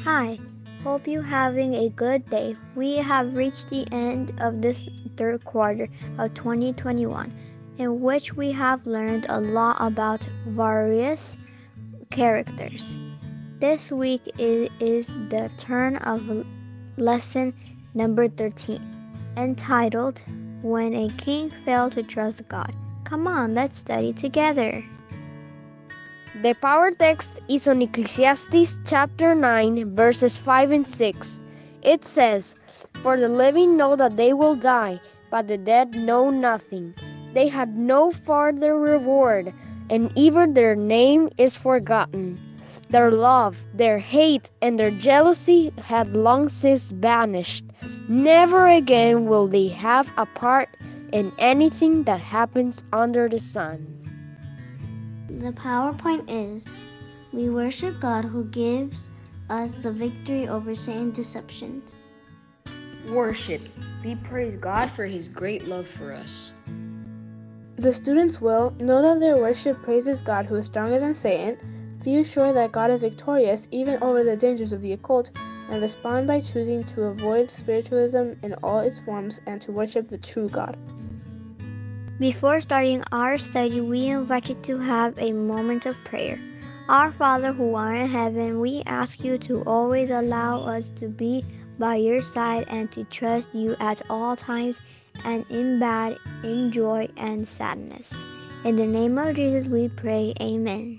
Hi, hope you're having a good day. We have reached the end of this third quarter of 2021, in which we have learned a lot about various characters. This week is the turn of lesson number 13, entitled When a King Failed to Trust God. Come on, let's study together. The power text is on Ecclesiastes chapter 9, verses 5 and 6. It says, "For the living know that they will die, but the dead know nothing. They had no farther reward, and even their name is forgotten. Their love, their hate, and their jealousy had long since vanished. Never again will they have a part in anything that happens under the sun." The PowerPoint is, we worship God who gives us the victory over Satan's deceptions. Worship. We praise God for His great love for us. The students will know that their worship praises God who is stronger than Satan, feel sure that God is victorious even over the dangers of the occult, and respond by choosing to avoid spiritualism in all its forms and to worship the true God. Before starting our study, we invite you to have a moment of prayer. Our Father who art in heaven, we ask you to always allow us to be by your side and to trust you at all times and in bad, in joy, and sadness. In the name of Jesus we pray, amen.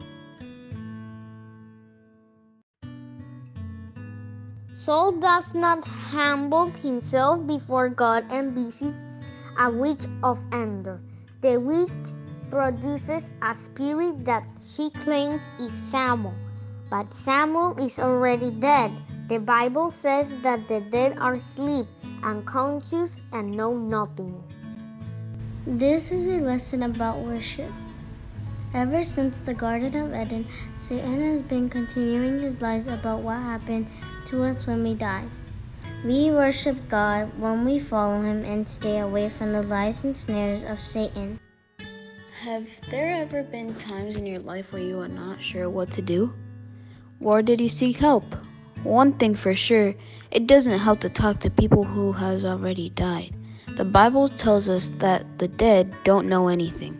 Saul does not humble himself before God and visits a witch of Endor. The witch produces a spirit that she claims is Samuel, but Samuel is already dead. The Bible says that the dead are asleep, unconscious, and know nothing. This is a lesson about worship. Ever since the Garden of Eden, Satan has been continuing his lies about what happened to us when we die. We worship God when we follow Him and stay away from the lies and snares of Satan. Have there ever been times in your life where you are not sure what to do? Or did you seek help? One thing for sure, it doesn't help to talk to people who has already died. The Bible tells us that the dead don't know anything.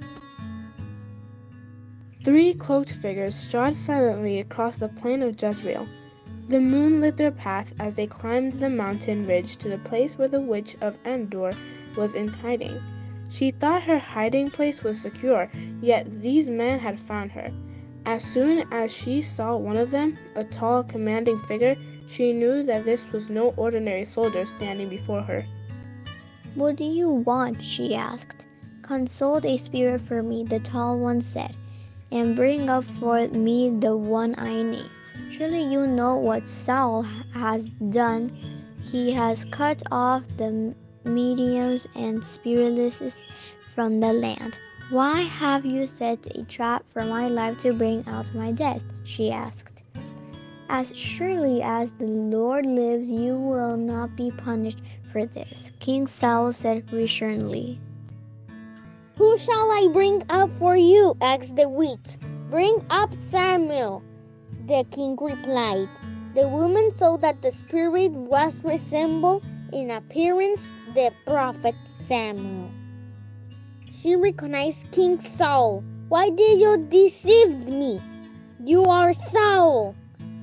3 cloaked figures strode silently across the plain of Jezreel. The moon lit their path as they climbed the mountain ridge to the place where the witch of Endor was in hiding. She thought her hiding place was secure, yet these men had found her. As soon as she saw one of them, a tall, commanding figure, she knew that this was no ordinary soldier standing before her. What do you want? She asked. Consult a spirit for me, the tall one said, and bring up for me the one I name. Surely you know what Saul has done. He has cut off the mediums and spiritualists from the land. Why have you set a trap for my life to bring out my death? She asked. As surely as the Lord lives, you will not be punished for this, King Saul said reassuringly. "Who shall I bring up for you?" asked the witch. "Bring up Samuel," the king replied. The woman saw that the spirit was resembled in appearance the prophet Samuel. She recognized King Saul. "Why did you deceive me? You are Saul!"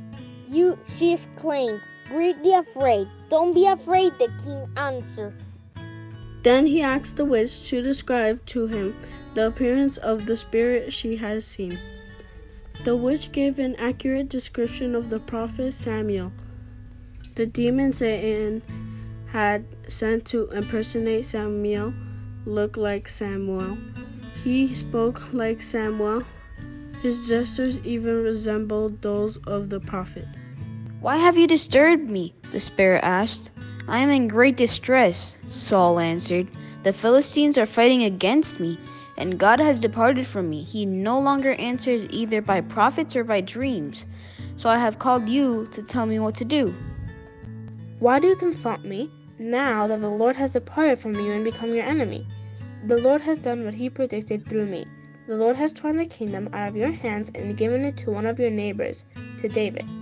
She exclaimed, greatly afraid. "Don't be afraid," the king answered. Then he asked the witch to describe to him the appearance of the spirit she had seen. The witch gave an accurate description of the prophet Samuel, the demon Satan had sent to impersonate Samuel, looked like Samuel. He spoke like Samuel. His gestures even resembled those of the prophet. "Why have you disturbed me?" the spirit asked. "I am in great distress," Saul answered. "The Philistines are fighting against me, and God has departed from me. He no longer answers either by prophets or by dreams. So I have called you to tell me what to do." "Why do you consult me, now that the Lord has departed from you and become your enemy? The Lord has done what He predicted through me. The Lord has torn the kingdom out of your hands and given it to one of your neighbors, to David.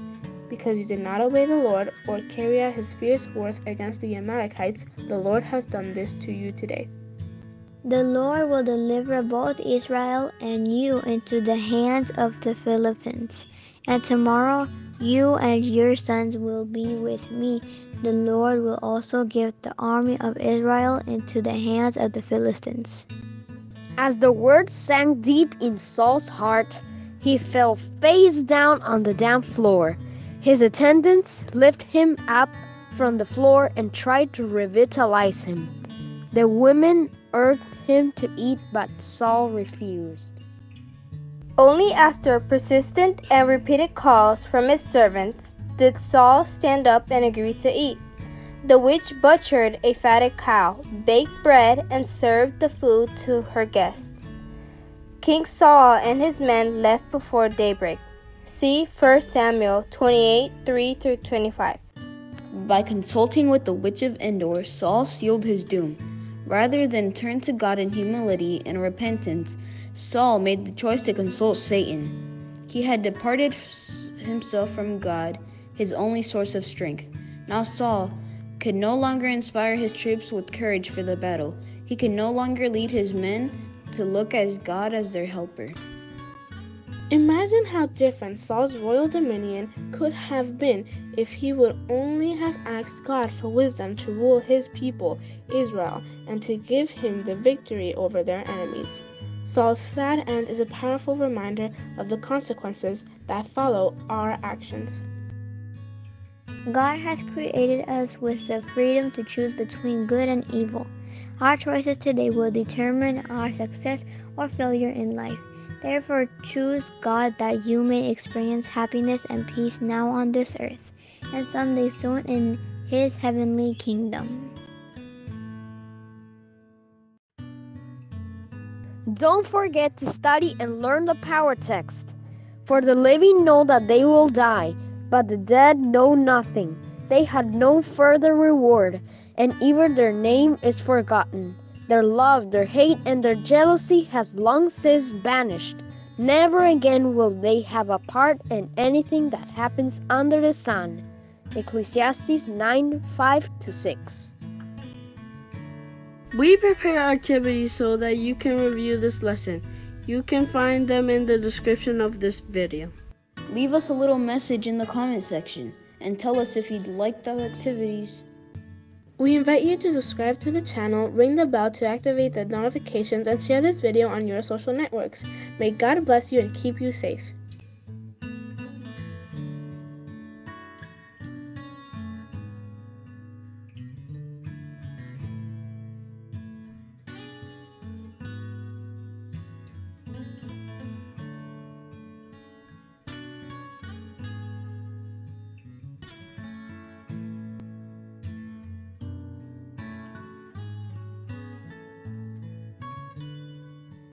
Because you did not obey the Lord or carry out his fierce wrath against the Amalekites, the Lord has done this to you today. The Lord will deliver both Israel and you into the hands of the Philistines. And tomorrow you and your sons will be with me. The Lord will also give the army of Israel into the hands of the Philistines. As the words sank deep in Saul's heart, he fell face down on the damp floor. His attendants lifted him up from the floor and tried to revitalize him. The women urged him to eat, but Saul refused. Only after persistent and repeated calls from his servants did Saul stand up and agree to eat. The witch butchered a fatted cow, baked bread, and served the food to her guests. King Saul and his men left before daybreak. See 1 Samuel 28, 3-25. By consulting with the witch of Endor, Saul sealed his doom. Rather than turn to God in humility and repentance, Saul made the choice to consult Satan. He had departed himself from God, his only source of strength. Now Saul could no longer inspire his troops with courage for the battle. He could no longer lead his men to look as God as their helper. Imagine how different Saul's royal dominion could have been if he would only have asked God for wisdom to rule his people, Israel, and to give him the victory over their enemies. Saul's sad end is a powerful reminder of the consequences that follow our actions. God has created us with the freedom to choose between good and evil. Our choices today will determine our success or failure in life. Therefore, choose God that you may experience happiness and peace now on this earth, and someday soon in His heavenly kingdom. Don't forget to study and learn the power text. For the living know that they will die, but the dead know nothing. They had no further reward, and even their name is forgotten. Their love, their hate, and their jealousy has long since vanished. Never again will they have a part in anything that happens under the sun. Ecclesiastes 9:5-6. We prepare activities so that you can review this lesson. You can find them in the description of this video. Leave us a little message in the comment section and tell us if you'd like the activities. We invite you to subscribe to the channel, ring the bell to activate the notifications, and share this video on your social networks. May God bless you and keep you safe.